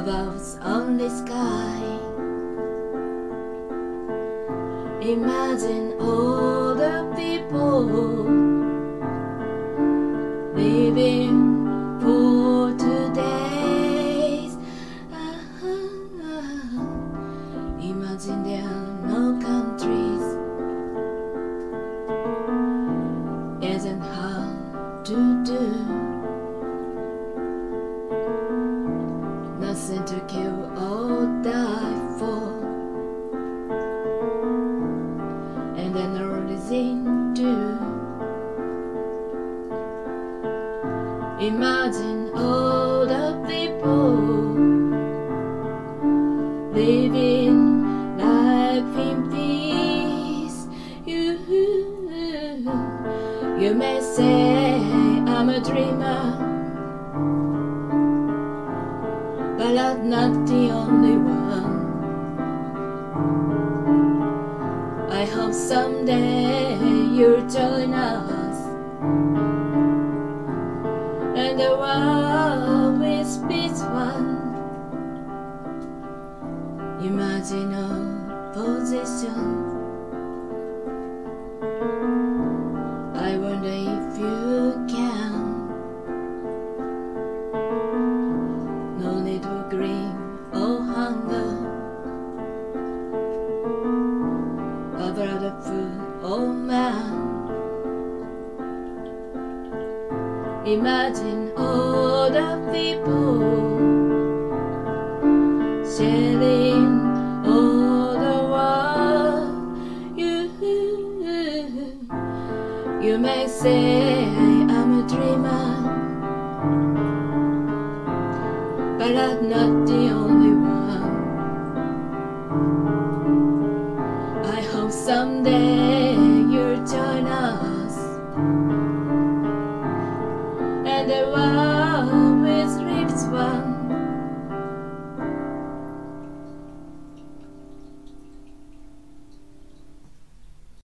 clouds on the sky. Imagine all the people living for today. Imagine there are no countries. Isn't hard to do. Nothing to kill or die for, and then everything to imagine all the people living life in peace. You may say I'm a dreamer, but I'm not the only one. I hope someday you'll join us, and the world will be one. Imagine our position. I wonder if you can. No need for greed or hunger, about the food or man. Imagine all the people sharing all the world. You may say I'm a dreamer, but I'm not the only one. I hope someday